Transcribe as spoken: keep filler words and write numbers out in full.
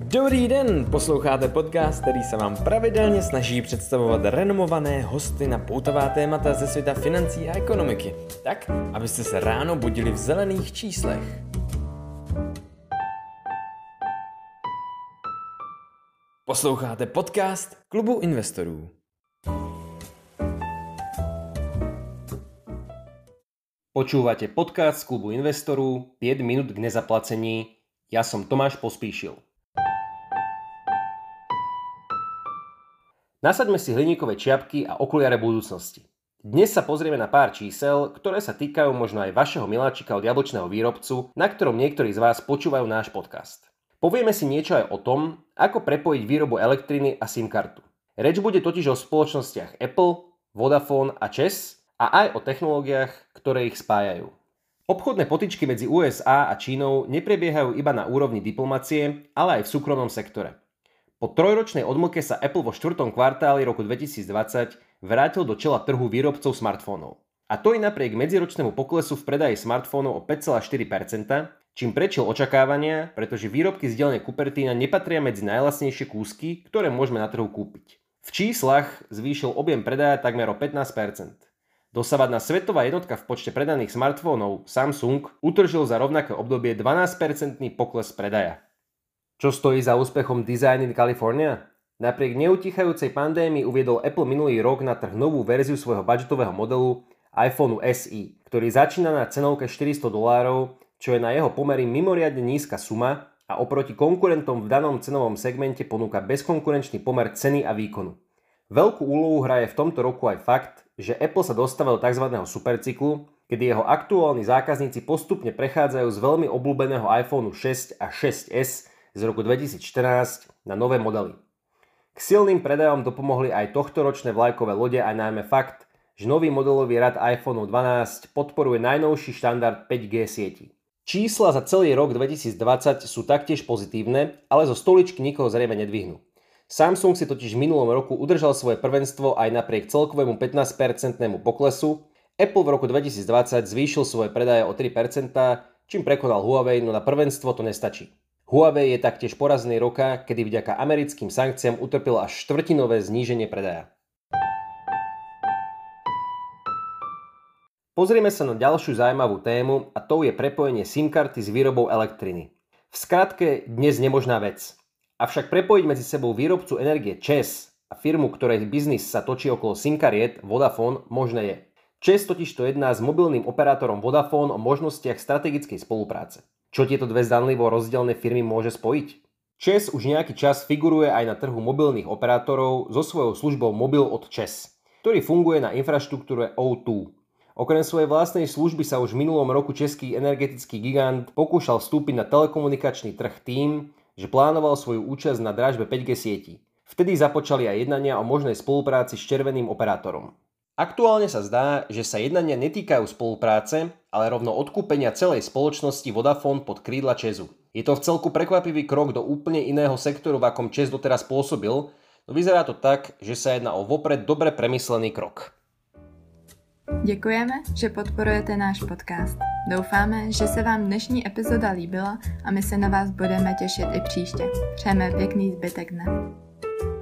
Dobrý den, posloucháte podcast, který se vám pravidelně snaží představovat renomované hosty na poutavá témata ze světa financí a ekonomiky, tak, abyste se ráno budili v zelených číslech. Posloucháte podcast Klubu investorů. Počúvate podcast z Klubu investorů päť minút k nezaplacení. Ja som Tomáš Pospíšil. Nasaďme si hliníkové čiapky a okuliare budúcnosti. Dnes sa pozrieme na pár čísel, ktoré sa týkajú možno aj vašeho miláčika od jablčného výrobcu, na ktorom niektorí z vás počúvajú náš podcast. Povieme si niečo aj o tom, ako prepojiť výrobu elektriny a SIM kartu. Reč bude totiž o spoločnostiach Apple, Vodafone a ČEZ a aj o technológiách, ktoré ich spájajú. Obchodné potyčky medzi ú es á a Čínou neprebiehajú iba na úrovni diplomacie, ale aj v súkromnom sektore. Po trojročnej odmlke sa Apple vo štvrtom kvartáli roku dvetisícdvadsať vrátil do čela trhu výrobcov smartfónov. A to i napriek medziročnému poklesu v predaji smartfónov o päť celá štyri percenta, čím prečil očakávania, pretože výrobky z dielne Cupertino nepatria medzi najlacnejšie kúsky, ktoré môžeme na trhu kúpiť. V číslach zvýšil objem predaja takmer o pätnásť percent. Dosavadná svetová jednotka v počte predaných smartfónov Samsung utržil za rovnaké obdobie dvanásť percentný pokles predaja. Čo stojí za úspechom Design in California? Napriek neutichajúcej pandémii uviedol Apple minulý rok na trh novú verziu svojho budžetového modelu iPhone es í, ktorý začína na cenovke štyristo dolárov, čo je na jeho pomery mimoriadne nízka suma a oproti konkurentom v danom cenovom segmente ponúka bezkonkurenčný pomer ceny a výkonu. Veľkú úlohu hraje v tomto roku aj fakt, že Apple sa dostáva do tzv. Supercyklu, kedy jeho aktuálni zákazníci postupne prechádzajú z veľmi obľúbeného iPhone šesť a šesť es z roku dvetisícštrnásť na nové modely. K silným predajom dopomohli aj tohtoročné vlajkové lode a najmä fakt, že nový modelový rad iPhone dvanásť podporuje najnovší štandard päť gé sieti. Čísla za celý rok dvetisícdvadsať sú taktiež pozitívne, ale zo stoličky nikoho zrejme nedvihnú. Samsung si totiž v minulom roku udržal svoje prvenstvo aj napriek celkovému pätnásť percentnému poklesu. Apple v roku dvetisícdvadsať zvýšil svoje predaje o tri percentá, čím prekonal Huawei, no na prvenstvo to nestačí. Huawei je taktiež porazený roka, kedy vďaka americkým sankciám utrpel až štvrtinové zníženie predaja. Pozrieme sa na ďalšiu zaujímavú tému a tou je prepojenie SIM karty s výrobou elektriny. V skratke dnes nemožná vec. Avšak prepojiť medzi sebou výrobcu energie ČEZ a firmu, ktorej biznis sa točí okolo SIM kariet Vodafone, možné je. ČEZ totiž to jedná s mobilným operátorom Vodafone o možnostiach strategickej spolupráce. Čo tieto dve zdanlivo rozdielne firmy môže spojiť? ČEZ už nejaký čas figuruje aj na trhu mobilných operátorov so svojou službou Mobil od ČEZ, ktorý funguje na infraštruktúre ó dva. Okrem svojej vlastnej služby sa už v minulom roku český energetický gigant pokúšal vstúpiť na telekomunikačný trh tým, že plánoval svoju účasť na dražbe päť gé sietí. Vtedy započali aj jednania o možnej spolupráci s červeným operátorom. Aktuálne sa zdá, že sa jednania netýkajú spolupráce, ale rovno odkúpenia celej spoločnosti Vodafone pod krídla ČEZu. Je to vcelku prekvapivý krok do úplne iného sektoru, v akom ČEZ doteraz pôsobil, no vyzerá to tak, že sa jedná o vopred dobre premyslený krok. Děkujeme, že podporujete náš podcast. Doufáme, že se vám dnešní epizoda líbila a my se na vás budeme těšit i příště. Přejeme pěkný zbytek dne.